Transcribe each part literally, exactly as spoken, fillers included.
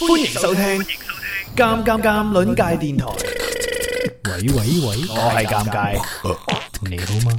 歡迎收聽《尷尷尷》鄰界電台。 喂喂喂， 我係尷尬， 你好嗎？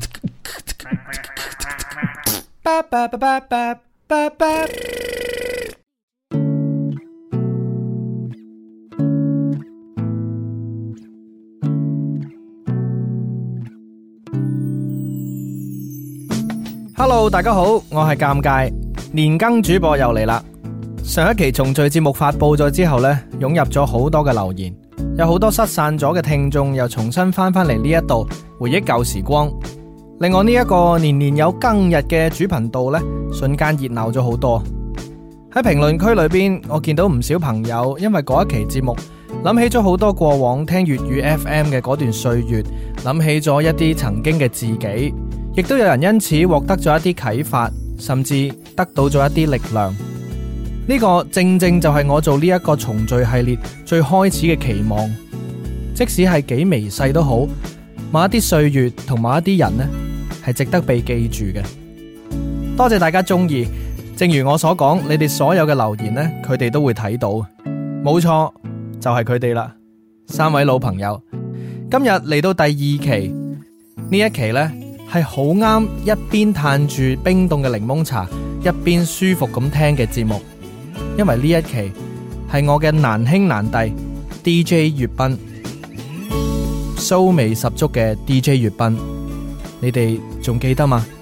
巴巴巴巴巴巴巴。Hello， 大家好，我係尷尬，年更主播又嚟啦。上一期重聚節目發佈咗之後呢，湧入咗好多嘅留言，有好多失散咗嘅聽眾又重新翻返嚟呢一度回憶舊時光，令我呢一個年年有更日嘅主頻道呢，瞬間熱鬧咗好多。喺評論區裏邊，我見到唔少朋友因為嗰一期節目諗起咗好多過往聽粵語 F M 嘅嗰段歲月，諗起咗一啲曾經嘅自己，亦都有人因此獲得咗一啲啟發，甚至得到咗一啲力量。呢個正正就係我做呢一個重聚系列最開始嘅期望，即使係幾微細都好，某一啲歲月同某一啲人呢，係值得被記住嘅。多謝大家中意，正如我所講，你哋所有嘅留言呢，佢哋都會睇到，冇錯，就係佢哋啦。三位老朋友，今日嚟到第二期，呢一期呢，係好啱一邊嘆住冰凍嘅檸檬茶，一邊舒服咁聽嘅節目。因為呢一期係我嘅難兄難弟 D J 粵斌，騷味十足嘅 D J 粵斌，你哋仲記得嗎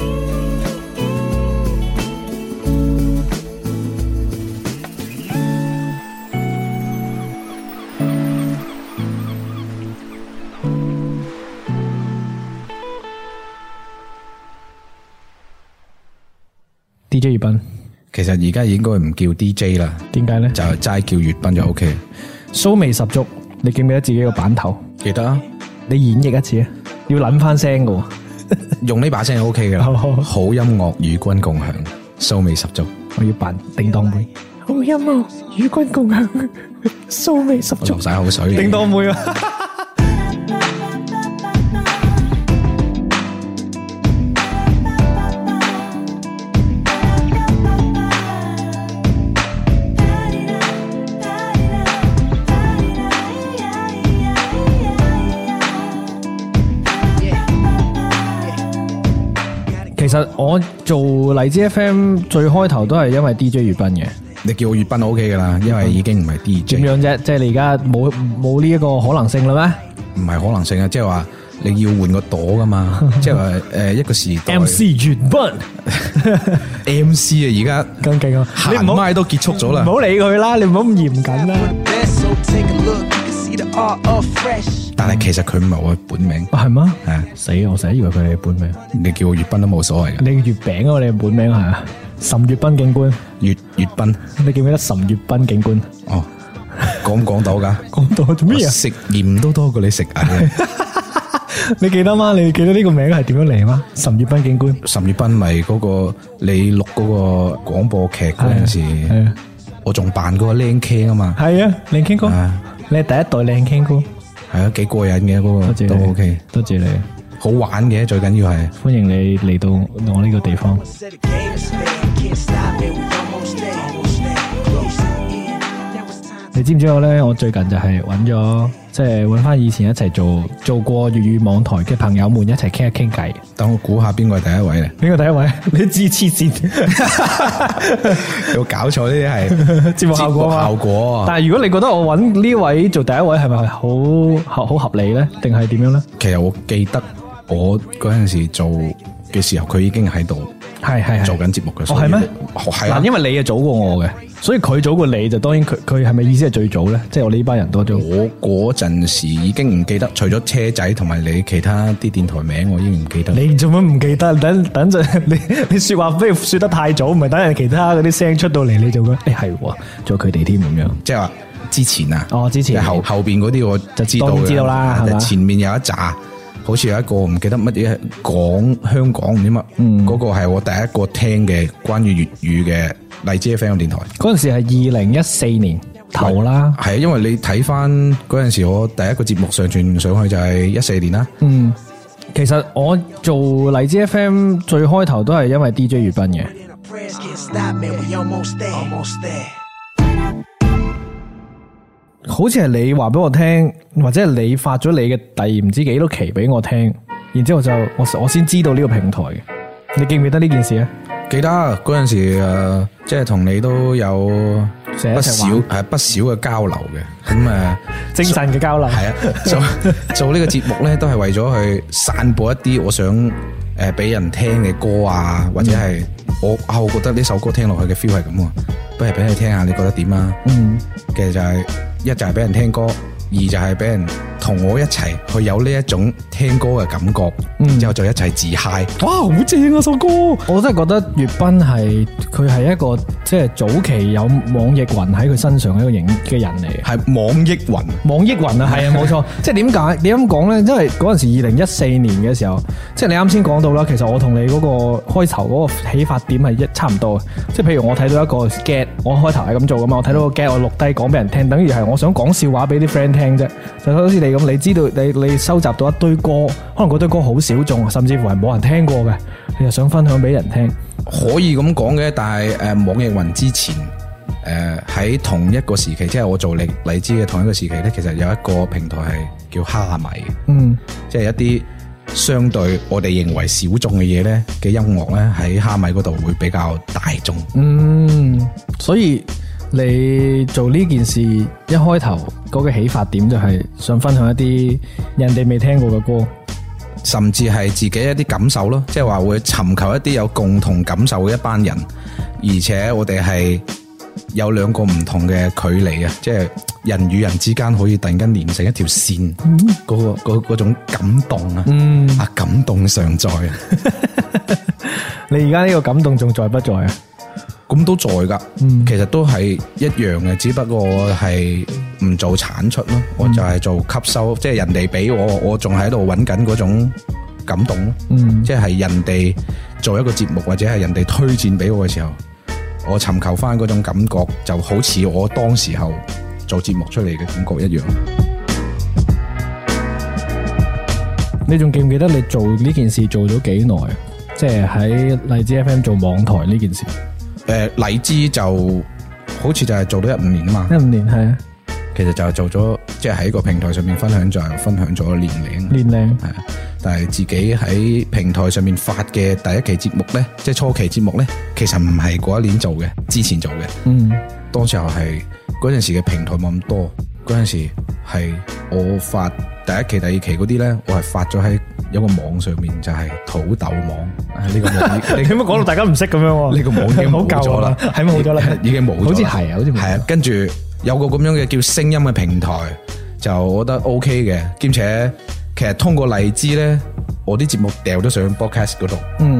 ？D J 粵斌。 其實而家應該唔叫 D J 啦， 點解呢？ 就齋叫粵斌就 O K。 騷味十足，你記唔記得自己個版頭？ 記得啊， 你演繹一次啊，要諗翻聲噶。 用呢把聲就 O K 噶啦。好音樂與君共享，騷味十足。 我要扮叮當妹。好音樂與君共享，騷味十足。 流晒口水。 叮當妹啊！其實我做荔枝 F M 最開頭都係因為 D J 粵斌嘅。 你叫我粵斌 O K 噶啦，因為已經唔係 D J。 點樣啫？即係你而家冇冇呢一個可能性啦咩？唔係可能性啊，即係話你要換個朵噶嘛，即係話誒一個時代。 M C 粵斌 ，M C 啊，而家咁勁啊！ 行麥都結束咗啦， 唔好理佢啦，你唔好咁嚴謹啦。 但係其實佢唔係我本名， 係嗎？ 係啊， 死我成日以為佢係本名。 你叫我粵斌都冇所謂嘅。 你月餅啊，你本名係啊？岑粵斌警官， 粵粵斌， 你記唔記得岑粵斌警官？ 哦，講唔講到㗎？ 講到做咩啊？ 食鹽都多過你食蟻。 你記得嗎？你記得呢個名係點樣嚟嗎？岑粵斌警官， 岑粵斌咪嗰個你錄嗰個廣播劇嗰陣時，我仲扮嗰個靚 King 啊嘛。 係啊，靚 King 哥，你係第一代靚 King 哥，係啊，幾過癮嘅嗰個都 OK， 多謝你， 好玩嘅最緊要係， 歡迎你嚟到我呢個地方。你知唔知我咧？我最近就係揾咗，即係揾翻以前一齊做做過粵語網台嘅朋友們一齊傾一傾偈。 等我估下邊個係第一位咧？ 邊個第一位？你知黐線， 有搞錯呢啲係節目效果效果。 但係如果你覺得我揾呢位做第一位係咪好好合理咧？定係點樣咧？ 其實我記得我嗰陣時做嘅時候，佢已經喺度。係係做緊節目嘅。 哦係咩？ 係啊， 因為你係早過我嘅，所以佢早過你就當然佢佢係咪意思係最早咧？即係我呢班人多咗。 我嗰陣時已經唔記得，除咗車仔同埋你其他啲電台名，我已經唔記得。 你做乜唔記得？等等陣你你說話不如說得太早，唔係等人其他嗰啲聲出到嚟你就覺得誒係喎，仲有佢哋添咁樣。 即係話之前啊， 哦之前後後邊嗰啲我就知道當然知道啦，係嘛？ 前面有一紮。好似有一個唔記得乜嘢講香港唔知乜，嗯，嗰個係我第一個聽嘅關於粵語嘅荔枝 F M 電台。嗰陣時係二零一四年頭啦，係啊，因為你睇翻嗰陣時我第一個節目上傳上去就係一四年啦。嗯，其實我做荔枝 F M 最開頭都係因為 D J 粵斌嘅。 好似係你話俾我聽，或者係你發咗你嘅第唔知幾多期俾我聽，然之後就我我先知道呢個平台嘅。你記唔記得呢件事啊？ 記得嗰陣時誒，即係同你都有不少係不少嘅交流嘅。咁誒， 精神嘅交流係啊，做做呢個節目咧，都係為咗去散播一啲我想誒俾人聽嘅歌啊，或者係我啊，我覺得呢首歌聽落去嘅 feel 係咁啊，不如俾你聽下，你覺得點啊？嗯，其實就係一就係俾人聽歌，二就係俾人同我一齊去有呢一種聽歌嘅感覺，嗯，之後就一齊自嗨。 哇，好正啊首歌！我真係覺得粵斌係佢係一個即係早期有網易雲喺佢身上嘅一個型嘅人嚟， 係網易雲， 網易雲啊，係啊，冇錯。即係點解？點咁講咧？因為嗰陣時二零一四年嘅時候，即係你啱先講到啦。其實我同你嗰個開頭嗰個起發點係一差唔多嘅。即係譬如我睇到一個 get， 我開頭係咁做噶嘛。我睇到個 get， 我錄低講俾人聽，等於係我想講笑話俾啲 friend 聽啫。就好似你咁，你知道你你收集到一堆歌，可能嗰堆歌好小眾，甚至乎係冇人聽過嘅，你就想分享俾人聽，可以咁講嘅。但係誒、呃，網易雲之前誒喺、呃、同一個時期，即係我做荔荔枝嘅同一個時期咧，其實有一個平台係叫蝦米，嗯，即係一啲相對我哋認為小眾嘅嘢咧嘅音樂咧，喺蝦米嗰度會比較大眾。 嗯，所以你做呢件事一開頭嗰個起發點就係想分享一啲人哋未聽過嘅歌， 甚至係自己一啲感受咯，即係話會尋求一啲有共同感受嘅一班人，而且我哋係有兩個唔同嘅距離啊，即係人與人之間可以突然間連成一條線，嗰、嗯嗰個嗰嗰種感動啊，嗯、啊感動常在啊！ 你而家呢個感動仲在不在啊？ 咁都在噶，嗯、其實都係一樣嘅，只不過我係唔做產出咯，嗯、我就係做吸收，即係人哋俾我，我仲喺度揾緊嗰種感動咯，嗯、即係人哋做一個節目或者係人哋推薦俾我嘅時候，我尋求翻嗰種感覺，就好似我當時候做節目出嚟嘅感覺一樣。 你仲記唔記得你做呢件事做咗幾耐？即係喺荔枝 F M 做網台呢件事。 誒、呃，荔枝就好似就係做咗一五年啊嘛， 一五年係啊， 其實就係做咗，即係喺個平台上面分享就係分享咗年齡， 年齡係啊，但係自己喺平台上面發嘅第一期節目咧，即係初期節目咧，其實唔係嗰一年做嘅，之前做嘅，嗯，當時候係嗰陣時嘅平台冇咁多，嗰陣時係我發第一期、第二期嗰啲咧，我係發咗喺有個網上面，就係土豆網。呢、這個網你點解講到大家唔識咁樣？ 呢個網已經冇咗啦， 係咪冇咗啦？ 已經冇咗， 好似係啊，好似係啊。跟住有個咁樣嘅叫聲音嘅平台，就我覺得 OK 嘅，兼且其實通過荔枝咧，我啲節目掉咗上 podcast 嗰度。嗯，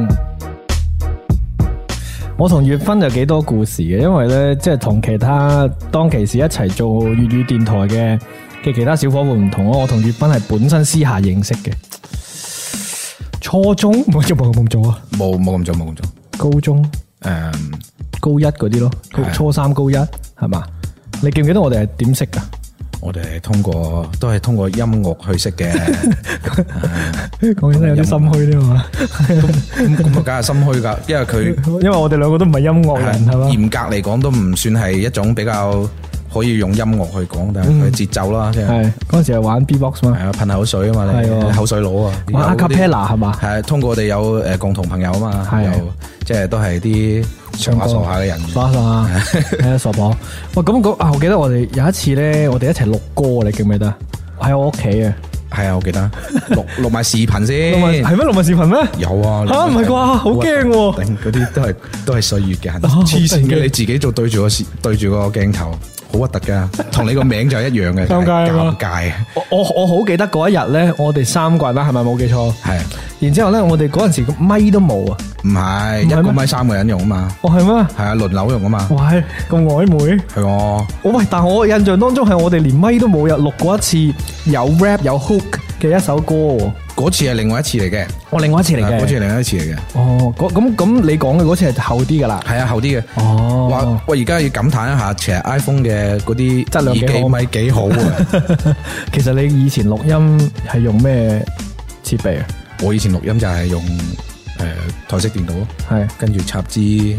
我同粵斌有幾多故事嘅，因為咧即係同其他當其時一齊做粵語電台嘅嘅其他小伙伴唔同咯。我同粵斌係本身私下認識嘅。初中冇做冇咁做啊， 冇冇咁做冇咁做。 高中誒、 嗯、 高一嗰啲咯，初三高一係嘛？你記唔記得我哋係點識噶？ 我哋係通過都係通過音樂去識嘅。 講起身有啲心虛啲嘛？ 咁咁啊，梗係心虛噶，因為佢因為我哋兩個都唔係音樂人係嘛？ 嚴格嚟講都唔算係一種比較可以用音樂去講，但係佢節奏啦，即係嗰陣時係玩 B-box 嘛， 係啊，噴口水啊嘛，你口水佬啊， 玩 acapella 係嘛？ 係通過我哋有誒共同朋友啊嘛，又即係都係啲傻下傻下嘅人， 傻下係啊傻婆。喂，咁嗰啊，我記得我哋有一次咧，我哋一齊錄歌，你記唔記得？喺我屋企啊， 係啊，我記得錄錄埋視頻先， 係咩？錄埋視頻咩？ 有啊， 吓唔係啩？好驚喎！ 嗰啲都係都係歲月嘅痕，黐線嘅，你自己做對住個對住個鏡頭。好核突噶，同你個名就一樣嘅，尷尬尷尬。 我我我好記得嗰一日咧，我哋三個人啦，係咪冇記錯？係。然之後咧，我哋嗰陣時個咪都冇啊。 唔係，一個咪三個人用啊嘛。 哦，係咩？ 係啊，輪流用啊嘛。 哇，咁曖昧。 係我。 喂，但係我印象當中係我哋連咪都冇，入錄過一次有 rap 有 hook 嘅一首歌。 嗰次係另外一次嚟嘅， 哦，另外一次嚟嘅， 嗰次係另外一次嚟嘅。 哦，咁咁你講嘅嗰次係厚啲噶啦， 係啊，厚啲嘅。哦，哇，喂，而家要感嘆一下，其實 iPhone 嘅嗰啲質量幾好， 咪幾好啊。 其實你以前錄音係用咩設備啊？ 我以前錄音就係用誒台式電腦咯，係跟住插支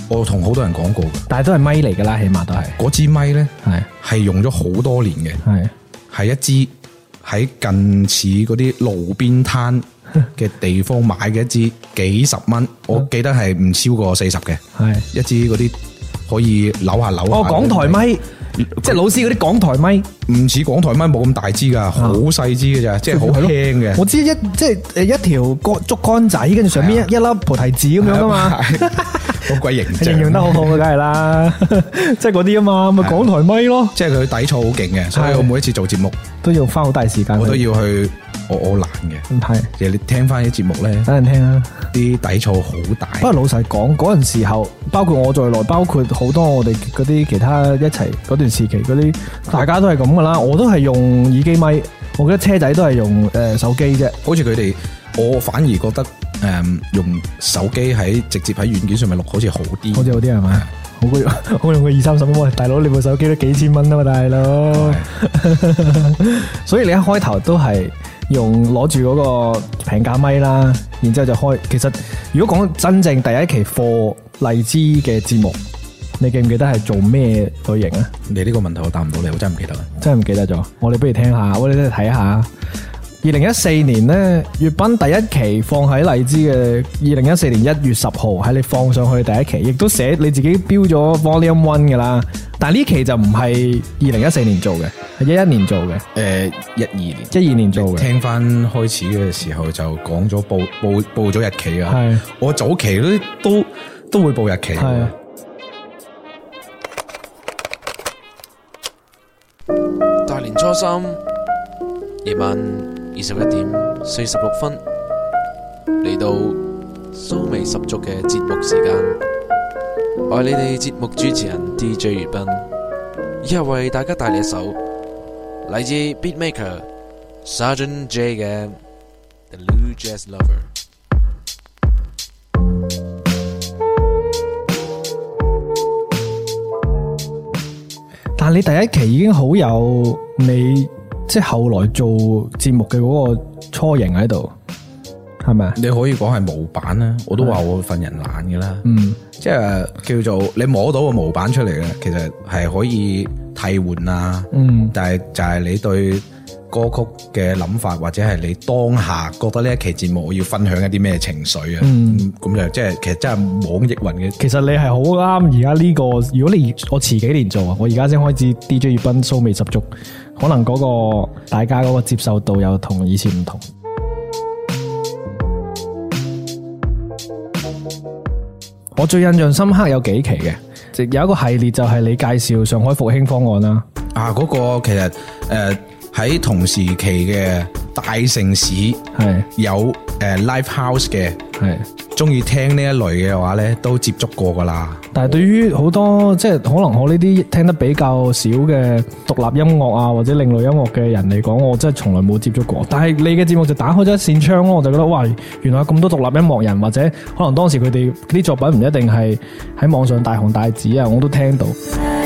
我同好多人講過嘅， 但係都係咪嚟㗎啦，起碼都係嗰支咪咧， 係係用咗好多年嘅， 係係一支喺近似嗰啲路邊攤嘅地方買嘅一支幾十蚊，我記得係唔超過四十嘅， 係一支嗰啲可以扭下扭下。 哦，港台咪，即係老師嗰啲港台咪， 唔似港台咪冇咁大支噶，好細支嘅咋，即係好輕嘅。 我知一即係誒一條乾竹竿仔，跟住上邊一一粒菩提子咁樣噶嘛， 好鬼形象， 形容得好好嘅，梗係啦，即係嗰啲啊嘛，咪港台咪咯。 即係佢底噪好勁嘅，所以我每一次做節目都要花好大時間， 我都要去。我我懶嘅， 係其實你聽翻啲節目咧， 等人聽啊， 啲底噪好大。 不過老實講，嗰陣時候，包括我在內，包括好多我哋嗰啲其他一齊嗰段時期嗰啲，大家都係咁噶啦。我都係用耳機咪，我覺得車仔都係用誒、呃、手機啫。 好似佢哋，我反而覺得誒、嗯、用手機喺直接喺軟件上面錄，好似好啲， 好似好啲係咪？好過好用過二三十蚊，大佬你部手機都幾千蚊啊嘛，大佬。所以你一開頭都係用攞住嗰個平價咪啦，然之後就開。其實如果講真正第一期貨荔枝嘅節目，你記唔記得係做咩類型啊？ 你呢個問題我答唔到你，我真係唔記得啦， 真係唔記得咗。我哋不如聽下，我哋都嚟睇下。二零一四年呢，粵賓第一期放喺荔枝嘅二零一四年一月十號，喺你放上去第一期，亦都寫你自己標咗 Volume One 噶啦。但係呢期就唔係二零一四年做嘅，係一一年做嘅。 誒，一二年， 一二年做嘅。 聽翻開始嘅時候就講咗報報報咗日期啊。 係， 我早期都都都會報日期。 係。 大年初三夜晚二十一點四十六分，嚟到蘇味十足嘅節目時間，我係你哋節目主持人 D J 粵賓，以下為大家帶嚟一首嚟自 Beatmaker Sergeant J 嘅 The Blue Jazz Lover。 但係你第一期已經好有你。即係後來做節目嘅嗰個雛形喺度，係咪啊？ 你可以講係模板啦，我都話我份人懶嘅啦。 嗯， 即係叫做你摸到個模板出嚟嘅，其實係可以替換啊。嗯，但係就係你對歌曲嘅諗法，或者係你當下覺得呢一期節目我要分享一啲咩情緒啊？嗯，咁就即係其實真係網易雲嘅。 其實你係好啱而家呢個，如果你我遲幾年做啊，我而家先開始 D J 粵賓蘇味十足。可能嗰個大家嗰個接受度又同以前唔同。我最印象深刻有幾期嘅，即有一個系列就係你介紹上海復興方案啦。 啊，嗰、嗰個其實誒喺、呃、同時期嘅大城市係有誒、呃、live house 嘅，係中意聽呢一類嘅話咧，都接觸過噶啦。 但係對於好多即係可能我呢啲聽得比較少嘅獨立音樂啊或者另類音樂嘅人嚟講，我真係從來冇接觸過。但係你嘅節目就打開咗一扇窗咯，我就覺得哇，原來有咁多獨立音樂人，或者可能當時佢哋啲作品唔一定係喺網上大紅大紫啊，我都聽到。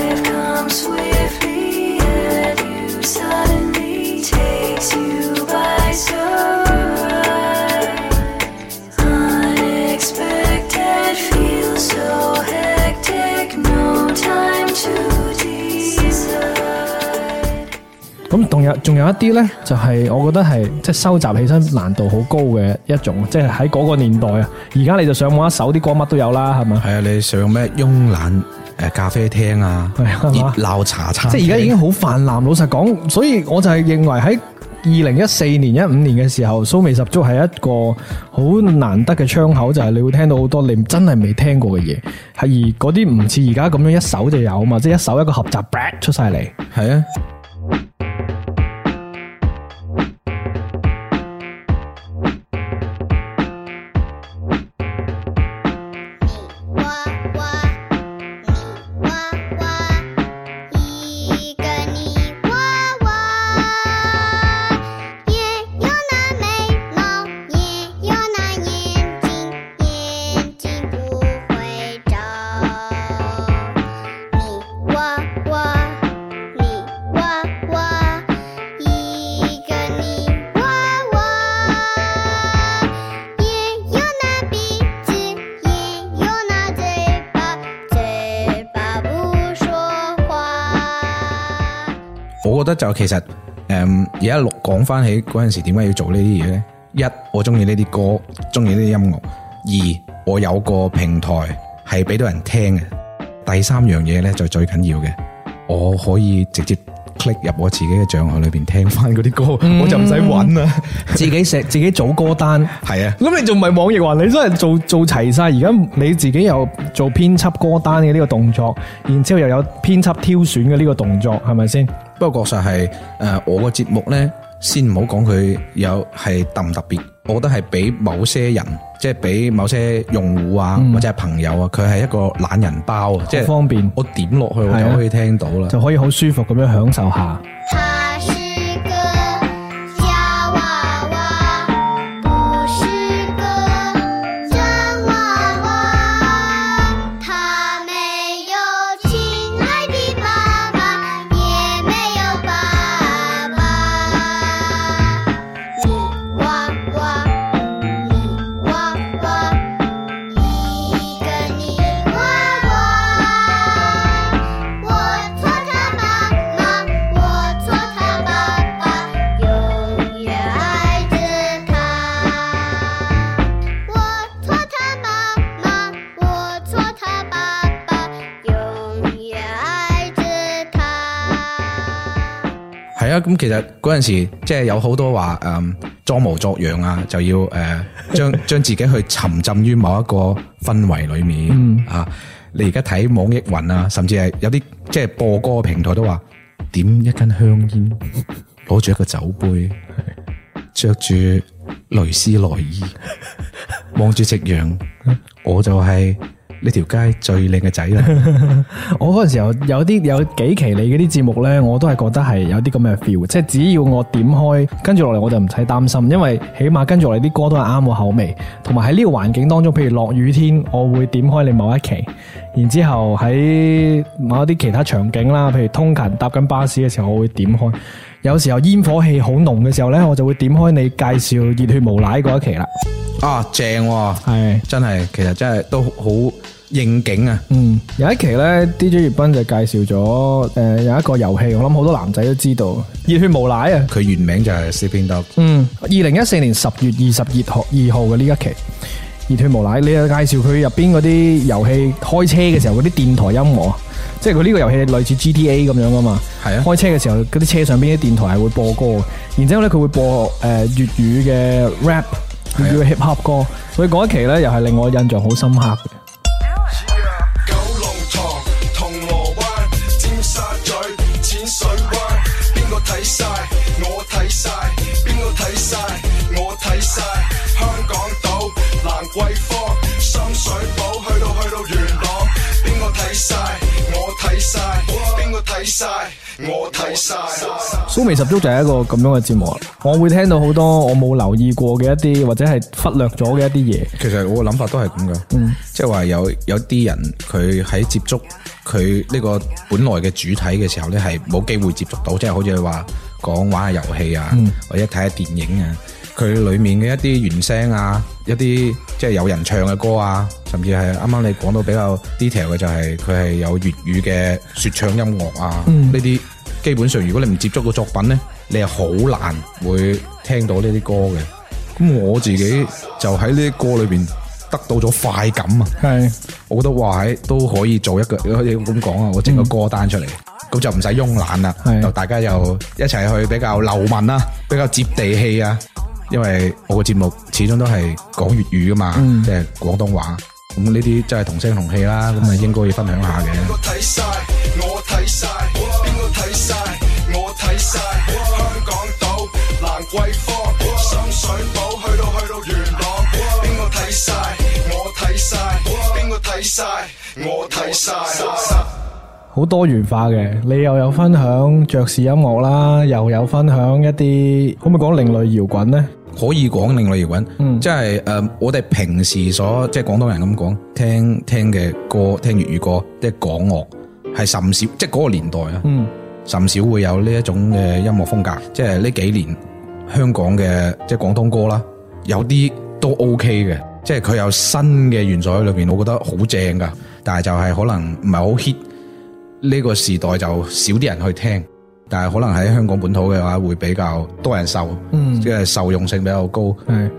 咁仲有仲有一啲咧，就係、是、我覺得係即係收集起身難度好高嘅一種，即係喺嗰個年代啊。而家你就上網一搜啲歌乜都有啦，係咪？係啊，你上咩慵懶誒咖啡廳啊，熱鬧茶餐廳，即係而家已經好泛濫。老實講，所以我就係認為喺二零一四年、一五年嘅時候，蘇味十足係一個好難得嘅窗口，就係、是、你會聽到好多你真係未聽過嘅嘢，係而嗰啲唔似而家咁樣一搜就有嘛，即係一搜一個合集出晒嚟，係啊。 我我覺得就其實誒而家錄講翻起嗰陣時點解要做呢啲嘢咧？一，我中意呢啲歌，中意呢啲音樂；二，我有個平台係俾到人聽嘅；第三樣嘢咧就最緊要嘅，我可以直接 click 入我自己嘅賬號裏邊聽翻嗰啲歌，嗯、我就唔使揾啦， 自己寫自己組歌單。 係啊， 咁你仲唔係網易雲？你真係做做齊晒。而家你自己又做編輯歌單嘅呢個動作，然之後又有編輯挑選嘅呢個動作，係咪先？ 不過確實係誒，我個節目咧，先唔好講佢有係特唔特別，我覺得係俾某些人，即係俾某些用戶啊，嗯、或者係朋友啊，佢係一個懶人包啊，即係方便，我點落去我就可以聽到啦， 就可以好舒服咁樣享受下。 係啊，咁其實嗰陣時即係有好多話誒裝模作樣啊，就要誒將將自己去沉浸於某一個氛圍裏面、嗯、啊。你而家睇網易雲啊，甚至係有啲即係播歌嘅平台都話點一根香煙，攞住一個酒杯，着住蕾絲內衣，望住夕陽，我就係、是。呢條街最靚嘅仔啦！ 我嗰陣時候有啲有幾期你嗰啲節目呢，我都係覺得係有啲咁嘅 feel， 即係只要我點開，跟住落嚟我就唔使擔心，因為起碼跟住落嚟啲歌都係啱我口味，同埋喺呢個環境當中，譬如落雨天，我會點開你某一期，然之後喺某一啲其他場景啦，譬如通勤搭緊巴士嘅時候，我會點開。有時候煙火氣好濃嘅時候呢，我就會點開你介紹熱血無賴嗰一期啦。 啊，正喎，係真係，其實真係都好應景啊。嗯， 有一期咧 D J 葉斌就介紹咗誒、呃、有一個遊戲，我諗好多男仔都知道，熱血無賴啊。 佢原名就係 Sleeping Dog。 嗯，二零一四年十月二十二號二號嘅呢一期熱血無賴，你又介紹佢入邊嗰啲遊戲開車嘅時候嗰啲電台音樂，即係佢呢個遊戲類似 G T A 咁樣噶嘛。係啊，開車嘅時候嗰啲車上邊啲電台係會播歌，然之後咧佢會播誒粵語嘅 rap。叫 hip hop 歌，所以嗰一期咧又係令我印象好深刻嘅。 九龍塘、銅鑼灣、尖沙咀、淺水灣，邊個睇晒？我睇晒，邊個睇晒？我睇晒。香港島、蘭桂坊、深水埗，去到去到元朗，邊個睇晒？我睇晒，邊個睇晒？我睇晒。 蘇味十足就係一個咁樣嘅節目，我會聽到好多我冇留意過嘅一啲或者係忽略咗嘅一啲嘢。 其實我嘅諗法都係咁嘅，嗯，即係話有有啲人佢喺接觸佢呢個本來嘅主體嘅時候咧，係冇機會接觸到，即係好似話講玩下遊戲啊，嗯、或者睇下電影啊，佢裏面嘅一啲原聲啊，一啲即係有人唱嘅歌啊，甚至係啱啱你講到比較 detail 嘅就係佢係有粵語嘅說唱音樂啊，呢啲、嗯、基本上如果你唔接觸個作品咧，你係好難會聽到呢啲歌嘅。咁我自己就喺呢啲歌裏邊得到咗快感啊！係，我覺得哇，喺都可以做一個，可以咁講啊，我整個歌單出嚟，咁、嗯、就唔使慵懶啦，就大家又一齊去比較流民啊，比較接地氣啊。因為我個節目始終都係講粵語噶嘛，嗯、即係廣東話，咁呢啲真係同聲同氣啦，咁啊應該要分享下嘅。邊個睇晒？我睇晒。邊個睇晒？我睇晒。香港島、蘭桂坊、深水埗，去到去到元朗，邊個睇晒？我睇晒。邊個睇晒？我睇晒。好多元化嘅，你又有分享爵士音樂啦，又有分享一啲，可唔可以講另類搖滾呢？可以講另類搖滾，嗯，即係誒、呃，我哋平時所即係廣東人咁講，聽聽嘅歌，聽粵語歌，即係港樂，係甚少，即係嗰個年代啊，嗯，甚少會有呢一種嘅音樂風格。即係呢幾年香港嘅即係廣東歌啦，有啲都 OK 嘅，即係佢有新嘅元素喺裏邊，我覺得好正噶。但係就係可能唔係好 hit，呢個時代就少啲人去聽。 但係可能喺香港本土嘅話會比較多人受， 嗯， 即係受用性比較高。 係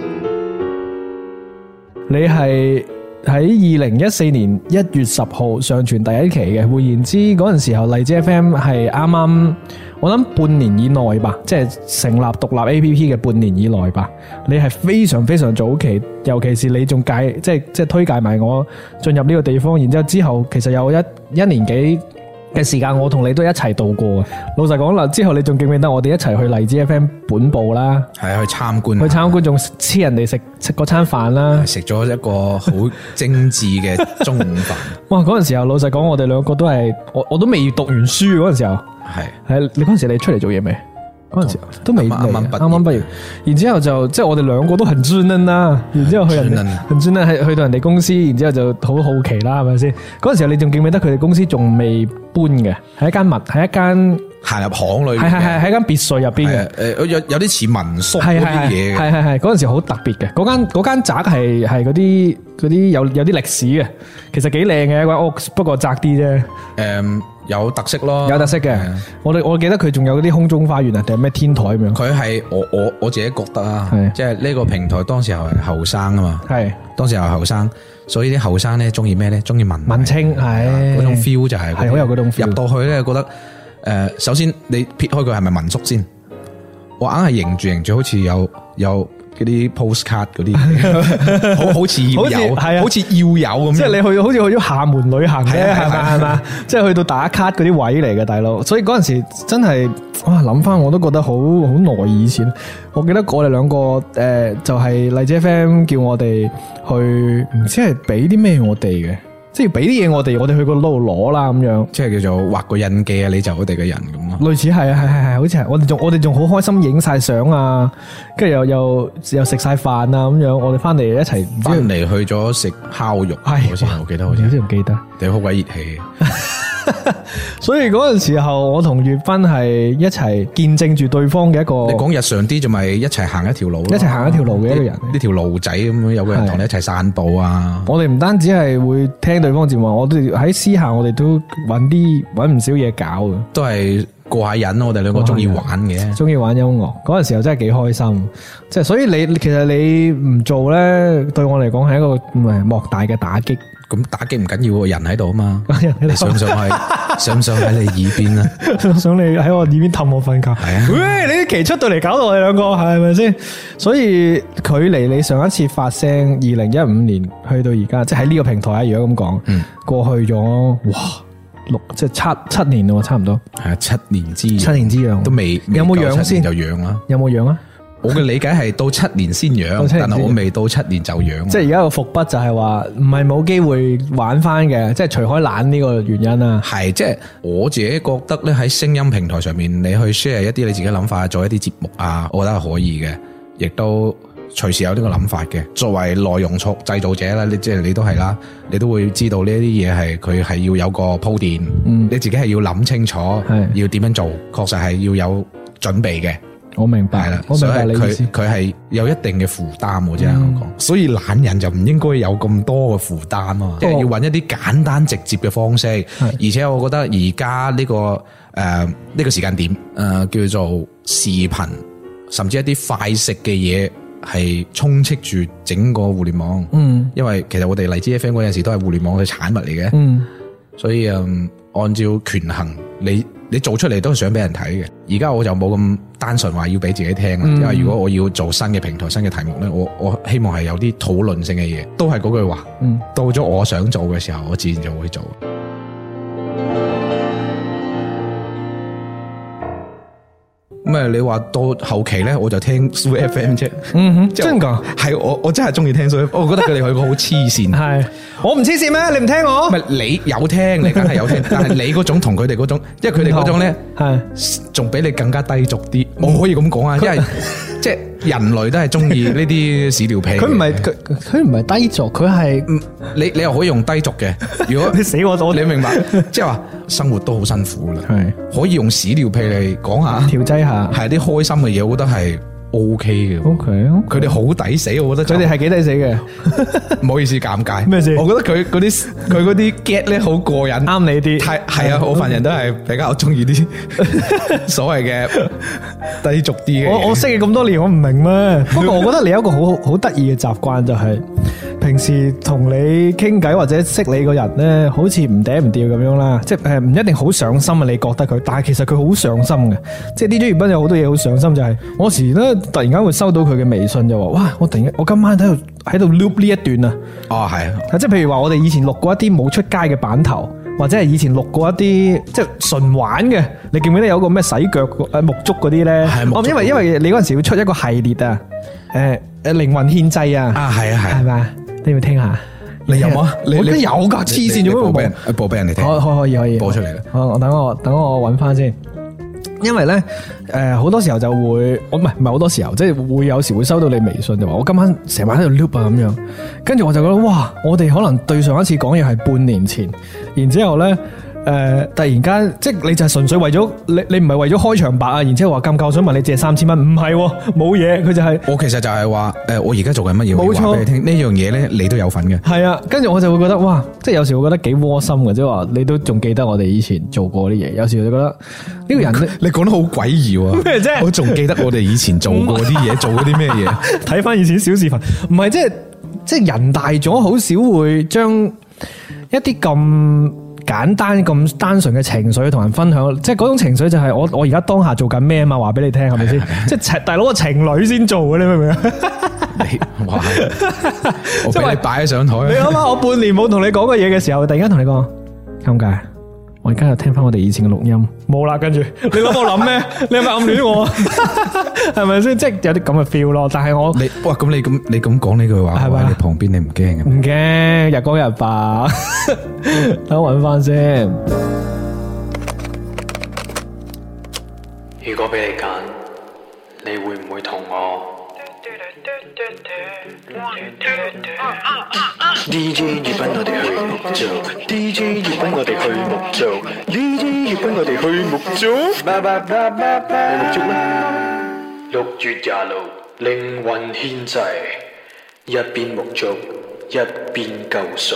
你係喺二零一四年一月十號上傳第一期嘅，換言之嗰陣時候荔枝 F M 係啱啱我諗半年以內吧，即係成立獨立 A P P 嘅半年以內吧。你係非常非常早期，尤其是你仲介即係即係推介埋我進入呢個地方，然之後之後其實有一一年幾嘅時間，我同你都一齊度過。老實講啦，之後你仲記唔記得我哋一齊去荔枝 F M 本部啦？ 係啊，去參觀， 去參觀仲黐人哋食食嗰餐飯啦， 食咗一個好精緻嘅中午飯。 哇！嗰陣時候老實講，我哋兩個都係我我都未讀完書嗰陣時候， 係係你嗰陣時你出嚟做嘢未？嗰陣時都未，啱啱啱畢業，然之後就即係我哋兩個都很專登啦，然之後去人哋很專登係去到人哋公司，然之後就好好奇啦，係咪先？嗰陣時候你仲記唔記得佢哋公司仲未搬嘅，係一間物，係一間行入巷裏， 係係係喺間別墅入邊嘅， 誒有有啲似民宿嗰啲嘢嘅， 係係係嗰陣時好特別嘅，嗰間嗰間宅係係嗰啲嗰啲有有啲歷史嘅，其實幾靚嘅一間屋，不過窄啲啫。 誒。有特色咯， 有特色嘅。我哋我記得佢仲有嗰啲空中花園啊，定係咩天台咁樣。 佢係我我我自己覺得啊，即係呢個平台當時候係後生啊嘛，係當時候後生，所以啲後生咧中意咩咧？中意文文青，係嗰種 feel 就係係好有嗰種 feel。 入到去咧，覺得誒，首先你撇開佢係咪民宿先，我硬係迎住迎住，好似有有。嗰啲 postcard 嗰啲，好好似要有，係啊，好似要有咁。即係你去，好似去咗廈門旅行咧，係咪係嘛？即係去到打卡嗰啲位嚟嘅，大佬。所以嗰陣時真係，哇！諗翻我都覺得好好耐以前。我記得我哋兩個誒、呃，就係、是、荔枝 F M 叫我哋去，唔知係俾啲咩我哋嘅。即係俾啲嘢我哋，我哋去嗰度攞啦咁樣，即係叫做畫個印記啊！你就我哋嘅人咁咯，類似係啊，係係係，好似係我哋仲我哋仲好開心影晒相啊，跟住又又又食晒飯啊咁樣，我哋翻嚟一齊翻嚟去咗食烤肉，係好似我記得好似，好似唔記得，你好鬼熱氣。所以嗰陣時候，我同粵斌係一齊見證住對方嘅一個。你講日常啲，就咪一齊行一條路，一齊行一條路嘅一個人，呢條路仔咁樣，有個人同你一齊散步啊。我哋唔單止係會聽對方節目，我哋喺私下我哋都揾啲揾唔少嘢搞嘅，都係過下癮。我哋兩個中意玩嘅，中意玩音樂。嗰陣時候真係幾開心，即係所以你其實你唔做咧，對我嚟講係一個唔係莫大嘅打擊。咁打擊唔緊要，人喺度啊嘛，你想唔想係想唔想喺你耳邊啊？想你喺我耳邊氹我瞓覺。係啊，喂，你啲期出到嚟搞到我哋兩個係咪先？所以距離你上一次發聲，二零一五年去到而家，即係喺呢個平台啊，如果咁講，嗯，過去咗哇六即係七七年咯，差唔多。係啊，七年之癢，七年之癢都未有冇癢先就癢啦？有冇癢啊？我嘅理解係到七年先養，但係我未到七年就養。即係而家個伏筆就係話，唔係冇機會玩翻嘅，即係除開懶呢個原因啦。係，即係我自己覺得咧，喺聲音平台上面，你去 share 一啲你自己諗法，做一啲節目啊，我覺得係可以嘅，亦都隨時有呢個諗法嘅。作為內容創製造者啦，你即係你都係啦，你都會知道呢啲嘢係佢係要有個鋪墊，嗯，你自己係要諗清楚，要點樣做，確實係要有準備嘅。我明白啦，我明白你意思。佢係有一定嘅負擔，我真係講。所以懶人就唔應該有咁多嘅負擔啊，即係要揾一啲簡單直接嘅方式。而且我覺得而家呢個誒呢、呃這個時間點誒、呃、叫做視頻，甚至一啲快食嘅嘢係充斥住整個互聯網。嗯，因為其實我哋荔枝 F M 嗰陣時都係互聯網嘅產物嚟嘅。嗯，所以嗯，按照權衡你。你做出嚟都係想俾人睇嘅，而家我就冇咁單純話要俾自己聽啦，嗯、因為如果我要做新嘅平台、新嘅題目咧，我我希望係有啲討論性嘅嘢，都係嗰句話，嗯、到咗我想做嘅時候，我自然就會做。咁啊！你話到後期咧，我就聽 Soo F M 啫。嗯哼，真噶？係我我真係中意聽 Soo F M。我覺得佢哋係個好黐線。係我唔黐線咩？你唔聽我？唔係你有聽，你梗係有聽。但係你嗰種同佢哋嗰種，因為佢哋嗰種咧係仲比你更加低俗啲。我可以咁講啊，因為即係人類都係中意呢啲屎尿屁。佢唔係佢佢唔係低俗，佢係你你又可以用低俗嘅。如果你死我咗，你明白？即係話生活都好辛苦啦，係可以用屎尿屁嚟講下調劑下。係啲開心嘅嘢，我覺得係 O K 嘅。 O K， 佢哋好抵死，我覺得佢哋係幾抵死嘅。 唔好意思，尷尬。 咩事？ 我覺得佢嗰啲佢嗰啲 get 咧好過癮， 啱你啲。 係係啊，我份人都係比較中意啲所謂嘅低俗啲嘅。 我我識你咁多年，我唔明咩？不過我覺得你有一個好好得意嘅習慣，就係平時同你傾偈或者識你個人咧，好似唔嗲唔吊咁樣啦。即係誒，唔一定好上心啊，你覺得佢，但係其實佢好上心嘅。即係 D J 月斌有好多嘢好上心，就係我時咧突然間會收到佢嘅微信，就話哇，我突然我今晚喺度喺度 loop 呢一段啊。 哦，係啊， 即係譬如話我哋以前錄過一啲冇出街嘅版頭，或者係以前錄過一啲即係純玩嘅，你記唔記得有個咩洗腳誒沐足嗰啲咧？ 係哦，因為因為你嗰陣時要出一個系列啊，誒誒靈魂獻祭啊， 啊係啊係， 係咪？你要聽下？ 你有冇啊？你我都有噶，黐線做咩播俾人冇？ 播俾人哋聽？ 可可可以可以播出嚟啦。 我我等我等我揾翻先。因為咧，誒好多時候就會，我唔係唔係好多時候，即係會有時會收到你微信就話我今晚成晚喺度 loop 啊咁樣，跟住我就覺得哇，我哋可能對上一次講嘢係半年前，然之後咧。誒、呃，突然間，即係你就係純粹為咗你，你唔係為咗開場白啊，然之後話咁夠想問你借三千蚊，唔係，冇嘢，佢就係、是、 我其實就係話，誒，我而家做緊乜嘢， 冇錯， 話俾你聽，呢樣嘢咧，你都有份嘅。係啊，跟住我就會覺得，哇，即係有時會覺得幾窩心嘅，即係話你都仲記得我哋以前做過啲嘢，有時就覺得呢個人咧， 你講得好詭異喎， 咩啫？ 我仲記得我哋以前做過啲嘢，做過啲咩嘢？ 睇翻以前小視頻，唔係即係即係人大咗，好少會將一啲咁。簡單咁單純嘅情緒同人分享，即係嗰種情緒就係我我而家當下做緊咩啊嘛，話俾你聽係咪先？即係大佬個情侶先做嘅，你明唔明啊？ 你哇！我俾你擺喺上台。 你諗下，我半年冇同你講過嘢嘅時候，突然間同你講尷尬。我而家又聽翻我哋以前嘅錄音，冇啦。跟住你諗我諗咩？你係咪暗戀我？係咪先？即係有啲咁嘅 feel 咯。但係我你哇咁你咁你咁講呢句話，喺你旁邊你唔驚嘅？ 唔驚，日光日白。等我搵翻先。 如果俾你揀，你會唔會同我 ？D J 月斌我哋去木做 ，D J 月斌我哋去木做 ，D J 月斌我哋去木做，去木做啦！六月廿六，靈魂獻祭，一邊木做一邊救贖。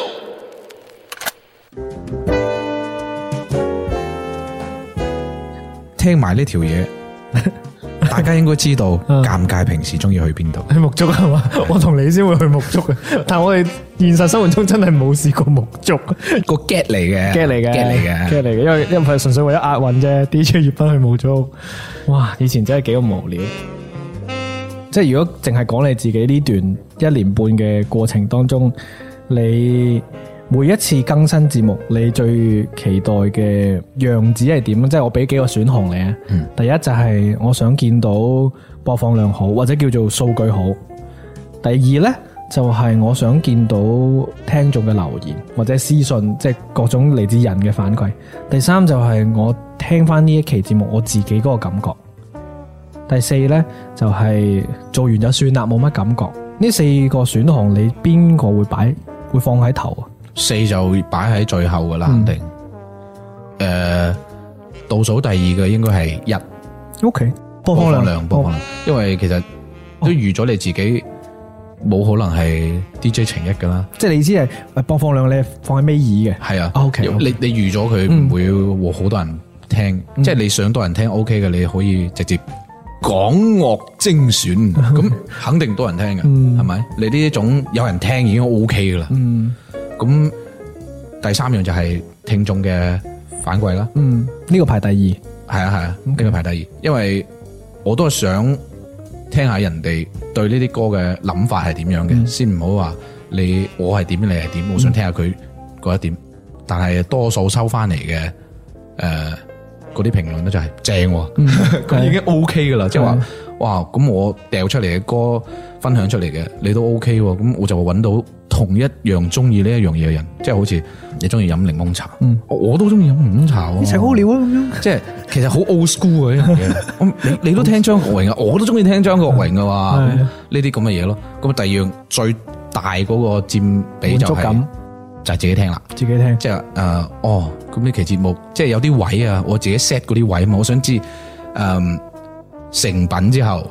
聽埋呢條嘢，大家應該知道尷尬平時中意去邊度？ 去沐足係嘛？我同你先會去沐足嘅，但係我哋現實生活中真係冇試過沐足。 個 get 嚟嘅 get 嚟嘅 get 嚟嘅 get 嚟嘅，因為因為純粹為咗押韻啫。D J 月斌去沐足，哇！以前真係幾咁無聊。即係如果淨係講你自己呢段一年半嘅過程當中，你每一次更新節目，你最期待嘅樣子係點？即係我俾幾個選項你啊。嗯、第一就係我想見到播放量好，或者叫做數據好。第二呢，就係我想見到聽眾嘅留言或者私信，即係各種嚟自人嘅反饋。第三就係我聽翻呢一期節目我自己嗰個感覺。第四呢，就係做完就算啦，冇乜感覺。呢四個選項你邊個會擺會放喺頭啊？ 四就擺喺最後噶啦，肯定。誒、嗯，倒、呃、數第二嘅應該係一。 O K， 播放量， 播放量，播放量。因為其實都預咗你自己冇可能係 D J 程一噶啦。 即係你意思係播放量你放喺尾二嘅？ 係啊。 O K， 你你預咗佢唔會好多人聽，嗯、即係你想多人聽 O K 嘅，你可以直接港樂精選，咁肯定多人聽嘅，係咪、嗯？你呢一種有人聽已經 O K 噶啦。嗯。咁第三樣就係聽眾嘅反饋啦。 嗯，呢個排第二。 係啊係啊，呢個排第二。因為我都係想聽下人哋對呢啲歌嘅諗法係點樣嘅，先唔好話你我係點你係點，我想聽下佢嗰一點。但係多數收翻嚟嘅誒嗰啲評論咧就係正，咁已經 O K 噶啦。即係話哇，咁我掉出嚟嘅歌分享出嚟嘅你都 O K 喎，咁我就會揾到同一樣中意呢一樣嘢嘅人，即係好似你中意飲檸檬茶，嗯、我都中意飲檸檬茶。 一齊好聊啊咁樣， 即係其實好 old school 嘅呢樣嘢。你你都聽張國榮啊，我都中意聽張國榮嘅話，呢啲咁嘅嘢咯。咁第二樣最大嗰個佔比就係、是、就係自己聽啦， 自己聽。 即係誒、呃，哦，咁呢期節目即係有啲位啊，我自己 set 嗰啲位啊嘛，我想知誒、呃、成品之後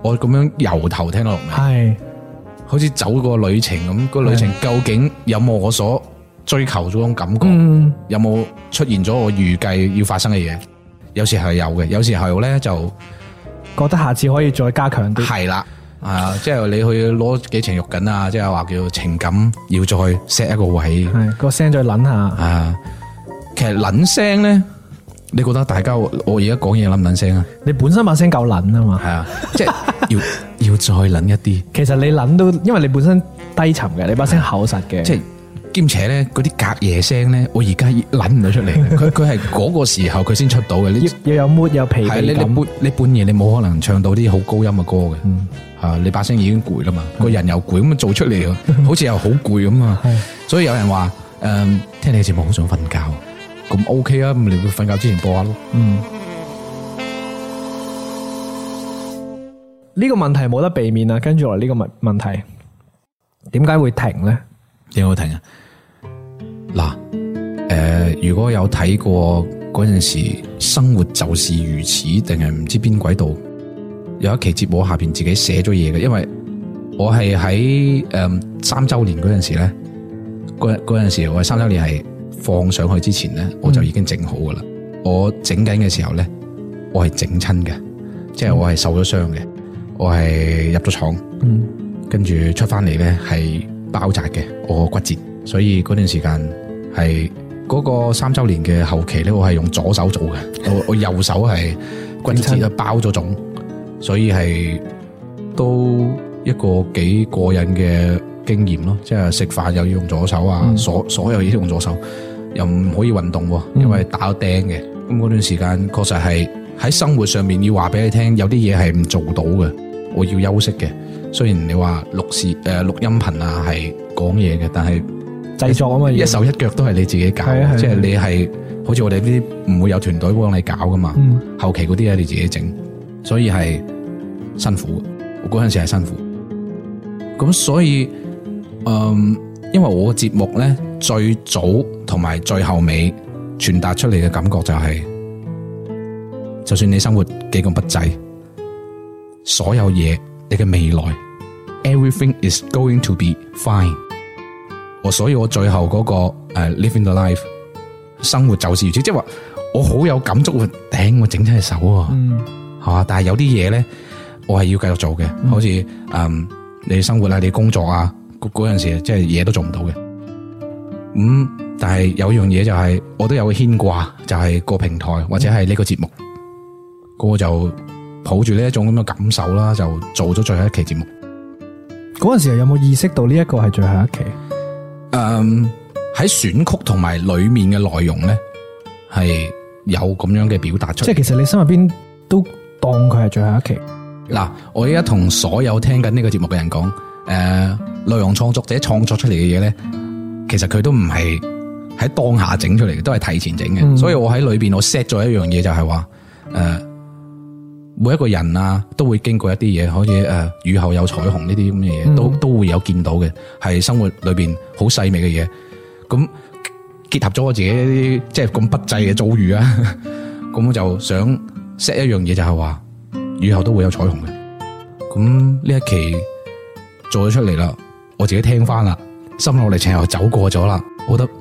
我咁樣由頭聽到落尾， 係好似走個旅程咁。個旅程究竟有冇我所追求嗰種感覺？ 嗯， 有冇出現咗我預計要發生嘅嘢？有時係有嘅，有時候咧就覺得下次可以再加強啲。 係啦，啊，即係你去攞幾程肉緊啊，即係話叫情感要再 set 一個位， 係個聲再撚下。 啊，其實撚聲咧，你覺得大家我而家講嘢撚唔撚聲啊？ 你本身把聲夠撚啊嘛。 係啊，即係要要再撚一啲。 其實你撚都，因為你本身低沉嘅，你把聲厚實嘅。 即係兼且咧，嗰啲隔夜聲咧，我而家撚唔到出嚟。佢佢係嗰個時候佢先出到嘅。你要有 mood 有疲憊感。 係你你半你半夜你冇可能唱到啲好高音嘅歌嘅。 嗯， 啊，你把聲已經攰啦嘛，個人又攰，咁做出嚟好似又好攰咁啊。所以有人話誒，聽你嘅節目好想瞓覺，咁 OK 啊，咁你會瞓覺之前播下咯。 嗯，呢個問題冇得避免啊。跟住落嚟呢個問問題，點解會停咧？ 點解會停啊？嗱，誒，如果有睇過嗰陣時，生活就是如此，定係唔知邊軌道有一期節目下邊自己寫咗嘢嘅，因為我係喺誒三周年嗰陣時咧，嗰嗰陣時我係三周年係放上去之前咧，我就已經整好噶啦。嗯、我整緊嘅時候咧，我係整親嘅，即係我係受咗傷嘅，我係入咗廠， 嗯，跟住出翻嚟咧係包紮嘅，我骨折，所以嗰段時間係嗰個三周年嘅後期咧，我係用左手做嘅，我我右手係骨折啊，包咗腫，所以係都一個幾過癮嘅經驗咯，即係食飯又要用左手啊，嗯、所所有嘢都用左手，又唔可以運動，因為打咗釘嘅，咁嗰段時間確實係喺生活上面要話俾你聽，有啲嘢係唔做到嘅，我要休息嘅。雖然你話錄視誒錄音頻啊係講嘢嘅，但係製作啊嘛， 一手一腳都係你自己搞，即係你係好似我哋呢啲唔會有團隊幫你搞噶嘛，嗯、後期嗰啲係你自己整，所以係辛苦。我嗰陣時係辛苦，咁所以，嗯，因為我嘅節目咧最早同埋最後尾傳達出嚟嘅感覺就係、是，就算你生活幾咁不濟，所有嘢你嘅未來。Everything is going to be fine。我所以我最後嗰、那個誒、uh, living the life， 生活就是如此，即係話我好有感觸，頂我整親隻手啊，係嘛、嗯？但係有啲嘢咧，我係要繼續做嘅，嗯、好似誒、嗯、你生活啊，你工作啊，嗰嗰陣時即係嘢都做唔到嘅。咁、嗯、但係有樣嘢就係、是、我都有個牽掛，就係、是、個平台或者係呢個節目，嗯、我就抱住呢一種咁嘅感受啦，就做咗最後一期節目。 嗰陣時有冇意識到呢一個係最後一期？ 誒、um, 喺選曲同埋裏面嘅內容咧，係有咁樣嘅表達出嚟。 即係其實你心入邊都當佢係最後一期。 嗱，我而家同所有聽緊呢個節目嘅人講，誒、呃，內容創作者創作出嚟嘅嘢咧，其實佢都唔係喺當下整出嚟嘅，都係提前整嘅。嗯、所以我喺裏邊我 set 咗一樣嘢，就係話，誒。每一個人啊，都會經過一啲嘢，好似誒雨後有彩虹呢啲咁嘅嘢，嗯、都都會有見到嘅，係生活裏邊好細微嘅嘢。咁結合咗我自己一啲即係咁不濟嘅遭遇啊，咁我就想 set 一樣嘢，就係話雨後都會有彩虹嘅。咁呢一期做咗出嚟啦，我自己聽翻啦，心路歷程又走過咗啦，我覺得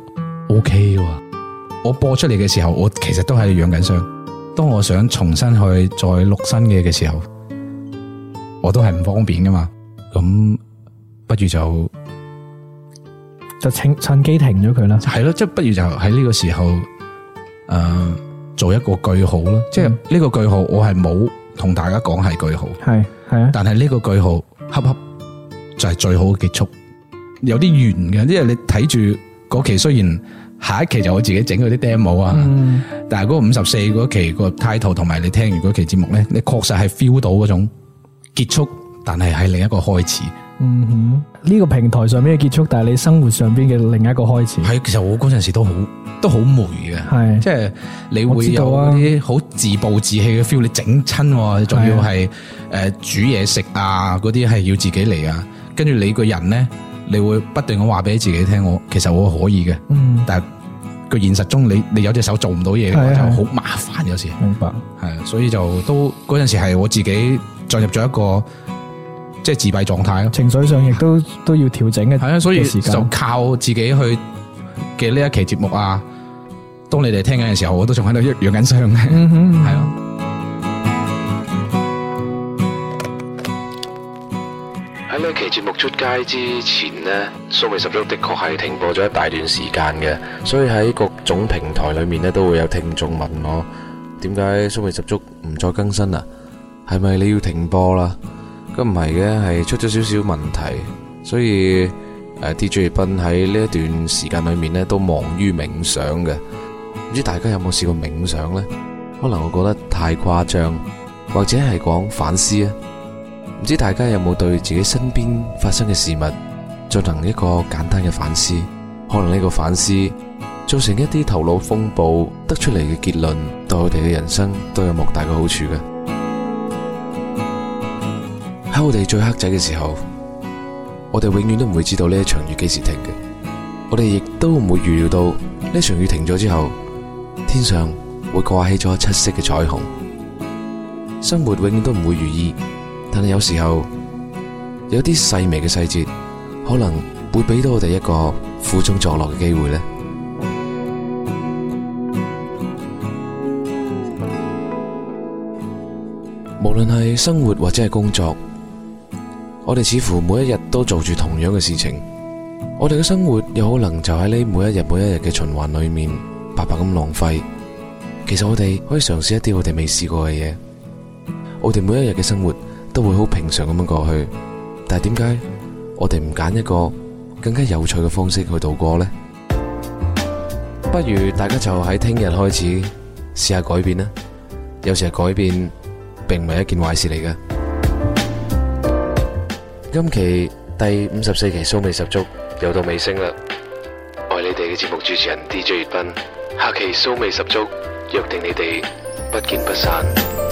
OK 喎。我播出嚟嘅時候，我其實都係養緊傷。當我想重新去再錄新嘅嘅時候，我都係唔方便噶嘛，咁不如就就趁趁機停咗佢啦。 係咯，即係不如就喺呢個時候，誒、呃，做一個句號咯。嗯、即係呢個句號，我係冇同大家講係句號， 係係啊。但係呢個句號恰恰就係最好嘅結束，有啲圓嘅，因為你睇住嗰期雖然。下一期就我自己整嗰啲 demo 啊，嗯、但係嗰個五十四嗰期個 title 同埋你聽完嗰期節目咧，你確實係 feel 到嗰種結束，但係係另一個開始。 嗯哼，呢、這個平台上面嘅結束，但係你生活上邊嘅另一個開始。係， 其實我嗰陣時都好都好霉嘅，係，即係你會有啲好自暴自棄嘅 feel，你整親，仲要係誒煮嘢食啊，嗰啲係要自己嚟啊，跟住你個人咧。你會不斷咁話俾自己聽，我其實我可以嘅，嗯、但係個現實中你你有隻手做唔到嘢嘅話就好麻煩，有時。 明白， 係，所以就都嗰陣時係我自己進入咗一個即係自閉狀態咯， 情緒上亦都都要調整嘅。 係啊，所以時間就靠自己去嘅呢一期節目啊。當你哋聽緊嘅時候，我都仲喺度養緊傷嘅， 嗯哼， 係咯。 喺呢期節目出街之前呢，蘇味十足的確係停播咗一大段時間嘅，所以喺各種平台裏面呢，都會有聽眾問我，點解蘇味十足唔再更新啊？係咪你要停播啦？咁唔係嘅，係出咗少少問題，所以誒 D J 斌喺呢一段時間裏面呢，都忙於冥想嘅。唔知大家有冇試過冥想呢？可能我覺得太誇張，或者係講反思啊。唔知大家有冇對自己身邊發生嘅事物進行一個簡單嘅反思？可能呢個反思造成一啲頭腦風暴，得出嚟嘅結論對我哋嘅人生都有莫大嘅好處嘅。喺我哋最黑仔嘅時候，我哋永遠都唔會知道呢一場雨幾時停嘅。我哋亦都唔會預料到呢場雨停咗之後，天上會掛起咗七色嘅彩虹。生活永遠都唔會如意，但係有時候有啲細微嘅細節，可能會俾到我哋一個苦中作樂嘅機會呢。無論係生活或者係工作，我哋似乎每一日都做住同樣嘅事情，我哋嘅生活有可能就喺呢每一日每一日嘅循環裏面白白咁浪費。其實我哋可以嘗試一啲我哋未試過嘅嘢，我哋每一日嘅生活都會好平常咁樣過去，但係點解我哋唔揀一個更加有趣嘅方式去度過呢？不如大家就喺聽日開始試下改變啦。有時係改變並唔係一件壞事嚟嘅。今期第五十四期蘇味十足又到尾聲啦，我係你哋嘅節目主持人 D J 粵斌，下期蘇味十足約定你哋不見不散。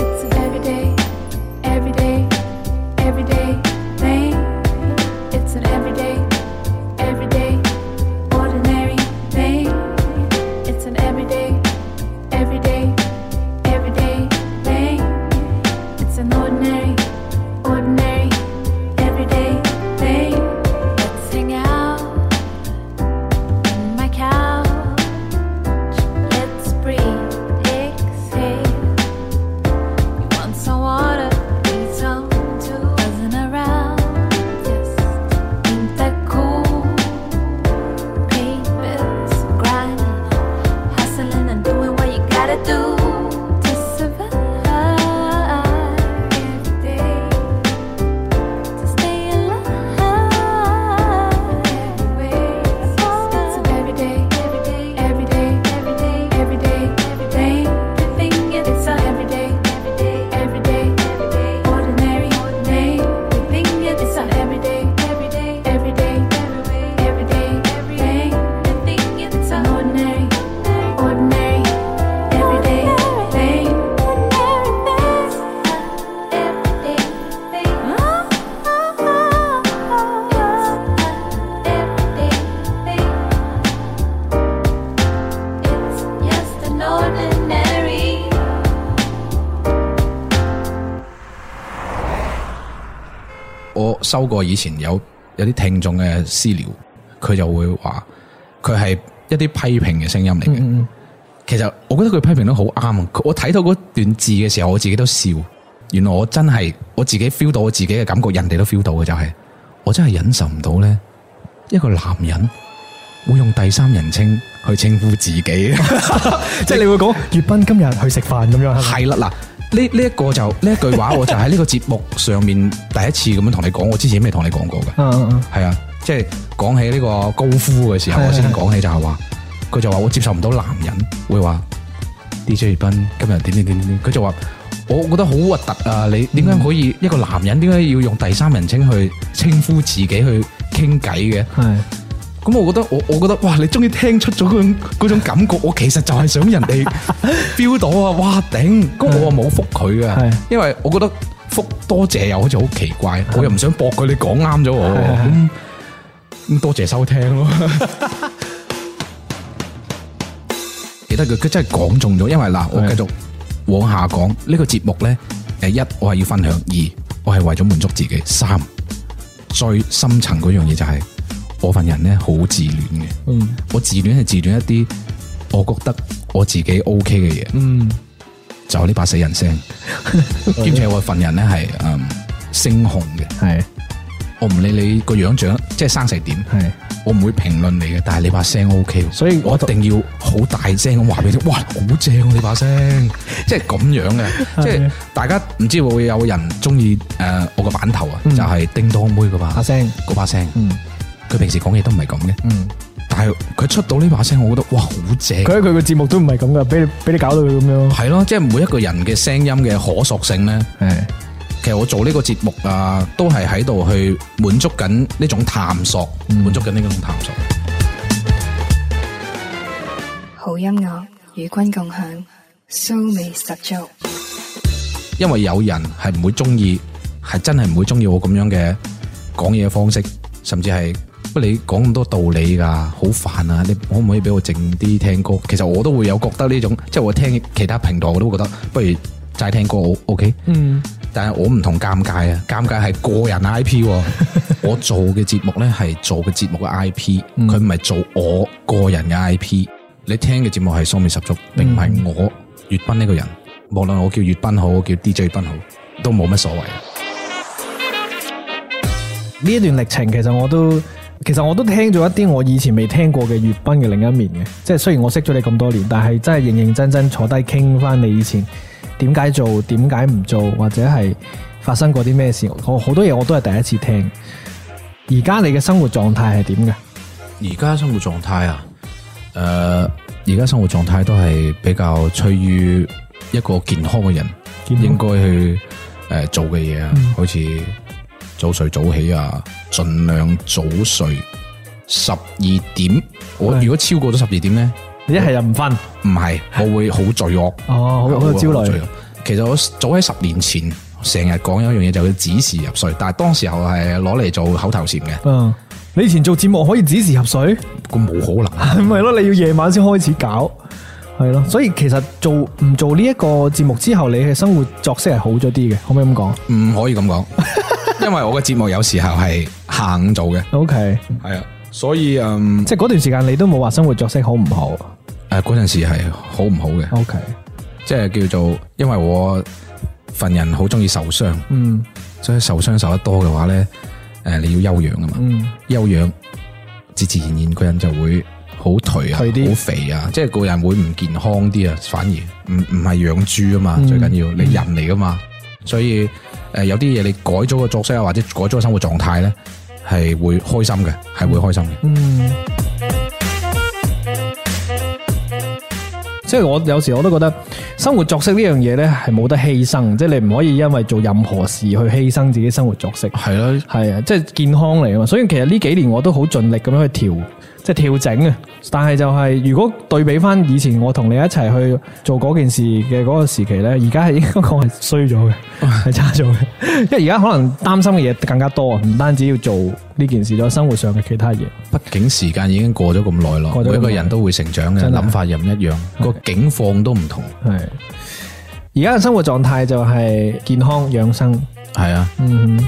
我收過以前有有啲聽眾嘅私聊，佢就會話佢係一啲批評嘅聲音嚟嘅。嗯嗯，其實我覺得佢批評得好啱。我睇到嗰段字嘅時候，我自己都笑。原來我真係我自己 feel 到我自己嘅感覺，人哋都 feel 到嘅就係、是，我真係忍受唔到咧，一個男人會用第三人稱去稱呼自己， 即係你會講粵斌今日去食飯咁樣， 係啦嗱。呢呢一個就呢一句話，我就喺呢個節目上面第一次咁樣同你講，我之前未同你講過嘅。嗯嗯嗯，係啊，即係講起呢個高夫嘅時候，我先講起就係話，佢就話我接受唔到男人會話 D J 粵斌今日點點點點，佢就話我覺得好核突啊！你點解可以一個男人點解要用第三人稱去稱呼自己去傾偈嘅？係。咁我覺得我我覺得哇，你終於聽出咗嗰種嗰種感覺，我其實就係想人哋 feel 到啊！哇頂，咁我又冇覆佢嘅，因為我覺得覆多謝又好似好奇怪，我又唔想駁佢，你講啱咗我，咁咁多謝收聽咯。記得佢佢真係講中咗，因為嗱，我繼續往下講呢個節目咧，誒一我係要分享，二我係為咗滿足自己。三，最深層嗰樣嘢就係、是、我份人咧好自戀嘅，嗯，我自戀係自戀一啲我覺得我自己 OK 嘅嘢，嗯，就係呢把死人聲，兼且我份人咧係誒聲紅嘅，係，我唔理你個樣長即係生成點，係。我唔會評論你嘅，但係你把聲 O K，所以我一定要好大聲咁話俾你聽，哇，好正啊！你把聲，即係咁樣嘅，即係大家唔知會唔會有人中意誒我個版頭啊，嗯、就係叮當妹嗰把聲，嗰把聲，嗯，佢平時講嘢都唔係咁嘅，嗯，但係佢出到呢把聲，我覺得哇，好正！佢喺佢個節目都唔係咁噶，俾你俾你搞到佢咁樣，係咯，即係每一個人嘅聲音嘅可塑性咧，係。其實我做呢個節目啊，都係喺度去滿足緊呢種探索，滿、嗯、足緊呢種探索。 好音樂與君共享，蘇味十足。 因為有人係唔會中意，係真係唔會中意我咁樣嘅講嘢方式，甚至係不你講咁多道理噶，好煩啊！你可唔可以俾我靜啲聽歌？其實我都會有覺得呢種，即係我聽其他平台我都會覺得，不如齋聽歌好 OK。嗯。但係我唔同尷尬啊，尷尬係個人 I P， 我做嘅節目咧係做嘅節目嘅 I P， 佢唔係做我個人嘅 I P。你聽嘅節目係蘇味十足，並唔係我粵賓呢個人。無論我叫粵賓好，叫 D J 賓好，都冇乜所謂。 呢一段歷程，其實我都，其實我都聽咗一啲我以前未聽過嘅粵賓嘅另一面嘅。即係雖然我識咗你咁多年，但係真係認認真真坐低傾翻你以前。點解做？點解唔做？或者係發生過啲咩事？我好多嘢我都係第一次聽。而家你嘅生活狀態係點嘅？ 而家生活狀態啊，誒、呃，而家生活狀態都係比較趨於一個健康嘅人應該去誒、呃、做嘅嘢啊，嗯、好似早睡早起啊，盡量早睡。十二點，我如果超過咗十二點咧。 一係又唔瞓， 唔係，我會好罪惡。哦，好好焦慮。其實我早喺十年前成日講有一樣嘢，就叫子時入睡，但係當時候係攞嚟做口頭禪嘅。嗯， 你以前做節目可以子時入睡？ 咁冇可能， 係咪咯？你要夜晚先開始搞，係咯。所以其實做唔做呢一個節目之後，你嘅生活作息係好咗啲嘅，可唔可以咁講？ 唔可以咁講，因為我嘅節目有時候係下午做嘅。 OK， 係啊。所以嗯， 即係嗰段時間你都冇話生活作息好唔好？ 誒，嗰陣時係好唔好嘅。O K，即係叫做，因為我份人好中意受傷，嗯，所以受傷受得多嘅話咧，誒，你要休養啊嘛，嗯，休養，自自然然個人就會好頹啊，好肥啊，即係個人會唔健康啲啊，反而唔唔係養豬啊嘛，嗯、最緊要你人嚟噶嘛，所以誒有啲嘢你改咗個作息啊，或者改咗個生活狀態咧。係會開心嘅，係會開心嘅。嗯，即係我有時我都覺得生活作息呢樣嘢咧係冇得犧牲，即係你唔可以因為做任何事去犧牲自己生活作息。係咯，係啊，即係健康嚟啊嘛。所以其實呢幾年我都好盡力咁樣去調，即係調整啊。但係就係如果對比翻以前我同你一齊去做嗰件事嘅嗰個時期咧，而家係應該講係衰咗嘅，係差咗嘅。因為而家可能擔心嘅嘢更加多啊，唔單止要做呢件事，仲有生活上嘅其他嘢。畢竟時間已經過咗咁耐咯，每一個人都會成長嘅，諗法又唔一樣，個境況都唔同。係而家嘅生活狀態就係健康養生。係啊，嗯。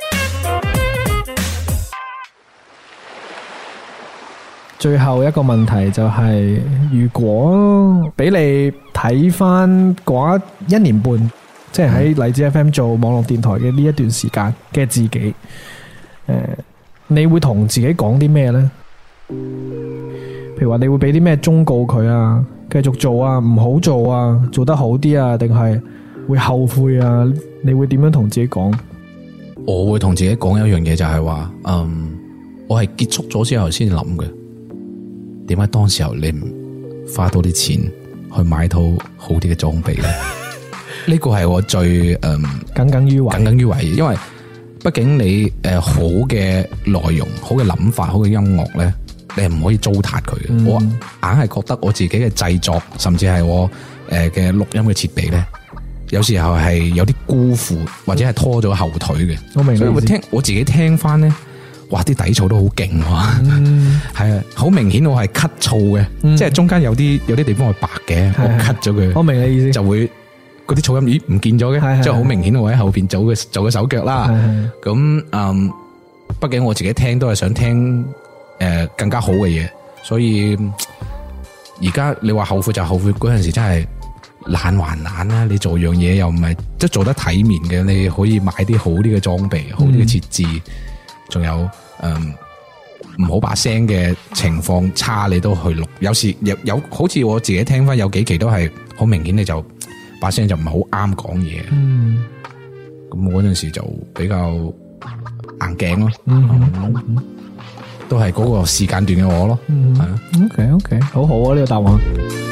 最後一個問題就係，如果俾你睇翻嗰一年半，即係喺荔枝 F M 做網絡電台嘅呢一段時間嘅自己，誒，你會同自己講啲咩呢？譬如話你會俾啲咩忠告佢啊？繼續做啊，唔好做啊，做得好啲啊，定係會後悔啊？你會點樣同自己講？我會同自己講一樣嘢，就係話，嗯，我係結束咗之後先諗嘅。點解當時候你唔花多啲錢去買套好啲嘅裝備咧？呢個係我最誒耿耿於懷，耿耿於懷。因為畢竟你誒、呃、好嘅內容、好嘅諗法、好嘅音樂咧，你係唔可以糟蹋佢嘅。嗯、我硬係覺得我自己嘅製作，甚至係我誒嘅錄音嘅設備咧，有時候係有啲辜負或者係拖咗後腿嘅。我明，所以我聽我自己聽翻咧。哇！啲底噪都好勁喎，係啊，好明顯我係 cut 噪嘅，嗯、即係中間有啲有啲地方係白嘅，嗯、我 cut 咗佢，我明你意思，就會嗰啲噪音咦唔見咗嘅，即係好明顯我喺後邊做嘅做嘅手腳啦。咁嗯，畢竟我自己聽都係想聽誒、呃、更加好嘅嘢，所以而家你話後悔就後悔嗰陣時真係懶還懶啦。你做樣嘢又唔係即係做得體面嘅，你可以買啲好啲嘅裝備、好啲嘅設置，仲、嗯、有嗯。唔好把聲嘅情況差，你都去錄。有時有有好似我自己聽翻有幾期都係好明顯，你就把聲就唔係好啱講嘢。嗯，咁我嗰陣時就比較硬頸咯。嗯嗯嗯、都係嗰個時間段嘅我咯。嗯，係啊。 OK OK， 好好啊呢、呢個答案。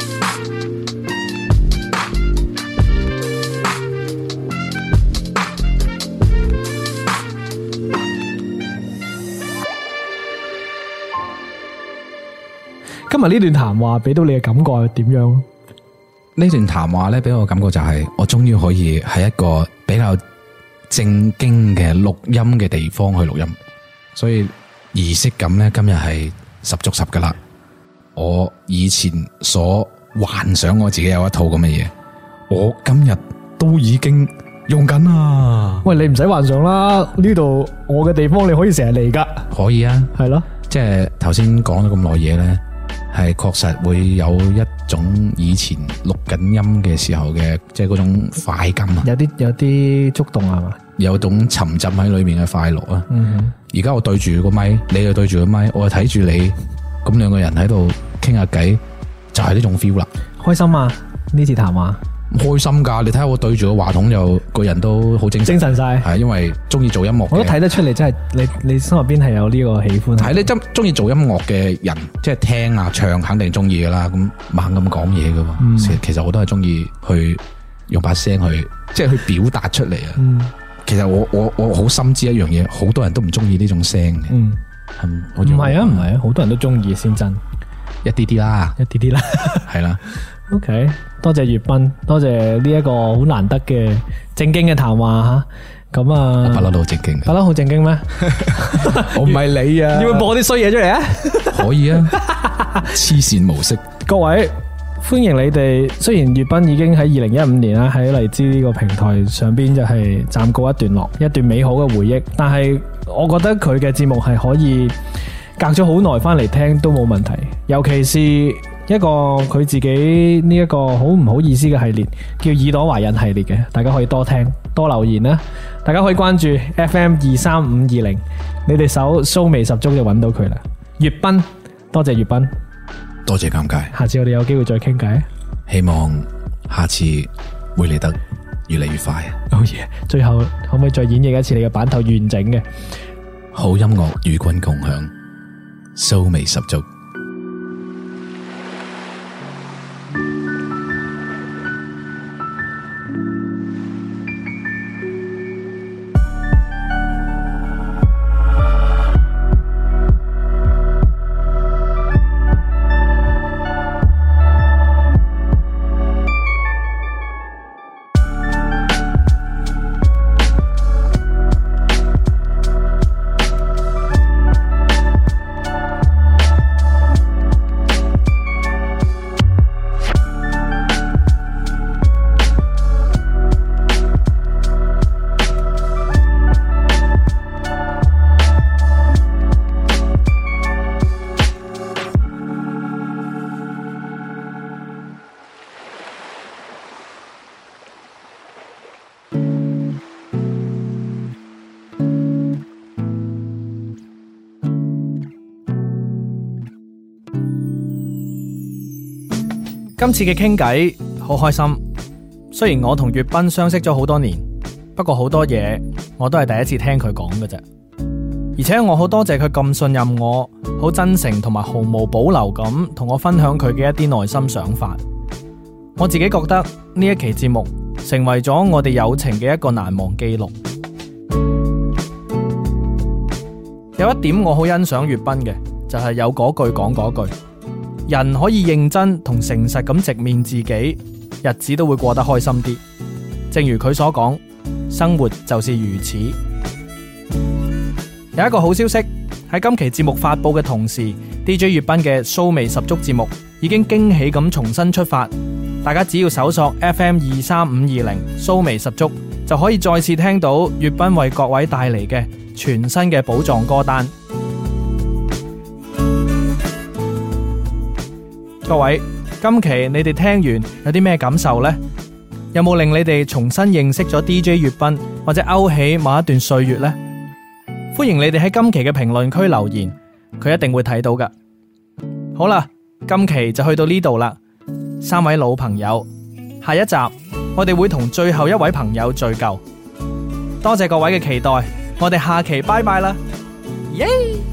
今日呢段談話俾到你嘅感覺係點樣？ 呢段談話咧，俾我嘅感覺就係我終於可以喺一個比較正經嘅錄音嘅地方去錄音，所以儀式感咧今日係十足十噶啦。我以前所幻想我自己有一套咁嘅嘢，我今日都已經用緊啦。 喂，你唔使幻想啦，呢度我嘅地方你可以成日嚟噶。 可以啊， 係咯， 即係頭先講咗咁耐嘢咧。係確實會有一種以前錄緊音嘅時候嘅，即係嗰種快感啊！ 有啲有啲觸動係嘛？ 有種沉浸喺裏面嘅快樂啊！而家、嗯、我對住個咪，你又對住個咪，我又睇住你，咁兩個人喺度傾下偈，就係、是、呢種 feel 啦！ 開心啊！呢次談話。 開心噶，你睇下我對住個話筒又個人都好精神， 精神晒， 係因為中意做音樂， 我都睇得出嚟，真係你你心入邊係有呢個喜歡。 係你真中意做音樂嘅人，即係聽啊唱肯定中意噶啦，咁猛咁講嘢噶嘛。嗯、其實我都係中意去用把聲去，即係去表達出嚟啊。嗯、其實我我我好深知一樣嘢，好多人都唔中意呢種聲嘅。嗯， 唔係啊，唔係啊，好多人都中意先真， 一啲啲啦， 一啲啲啦， 係啦。 OK，多謝粵斌，多謝呢一個好難得嘅正經嘅談話吓，咁啊， 不嬲都好正經嘅， 不嬲好正經咩？ 我唔係你啊， 要唔要播啲衰嘢出嚟啊？ 可以啊，黐線模式。 各位歡迎你哋，雖然粵斌已經喺二零一五年啦喺荔枝呢個平台上邊就係暫告一段落，一段美好嘅回憶，但係我覺得佢嘅節目係可以隔咗好耐翻嚟聽都冇問題，尤其是一個佢自己呢一個好唔好意思嘅系列，叫耳朵懷孕系列嘅，大家可以多聽多留言啦。大家可以關注 F M 二三五二零，你哋搜騷味十足就揾到佢啦。粵斌，多謝粵斌， 多謝尷尬。 下次我哋有機會再傾偈， 希望下次會嚟得越嚟越快。 好嘢！最後可唔可以再演繹一次你嘅版頭完整嘅？ 好音樂與君共享，騷味十足。 今次嘅傾偈好開心，雖然我同粵斌相識咗好多年，不過好多嘢我都係第一次聽佢講嘅啫。而且我好多謝佢咁信任我，好真誠同埋毫無保留咁同我分享佢嘅一啲內心想法。我自己覺得呢一期節目成為咗我哋友情嘅一個難忘記錄。有一點我好欣賞粵斌嘅，就係有嗰句講嗰句，人可以認真同誠實咁直面自己，日子都會過得開心啲。正如佢所講，生活就是如此。有一個好消息，喺今期節目發佈嘅同時， D J 粵斌嘅騷味十足節目已經驚喜咁重新出發。 大家只要搜索 F M 二三五二零蘇味十足，就可以再次聽到粵斌為各位帶嚟嘅全新嘅寶藏歌單。各位，今期你哋聽完有啲咩感受呢？有冇令你哋重新認識咗 D J 粵斌，或者勾起某一段歲月呢？歡迎你哋喺今期嘅評論區留言，佢一定會睇到㗎。好啦，今期就去到呢度啦，三位老朋友，下一集我哋會同最後一位朋友聚舊。多謝各位嘅期待，我哋下期拜拜啦，耶！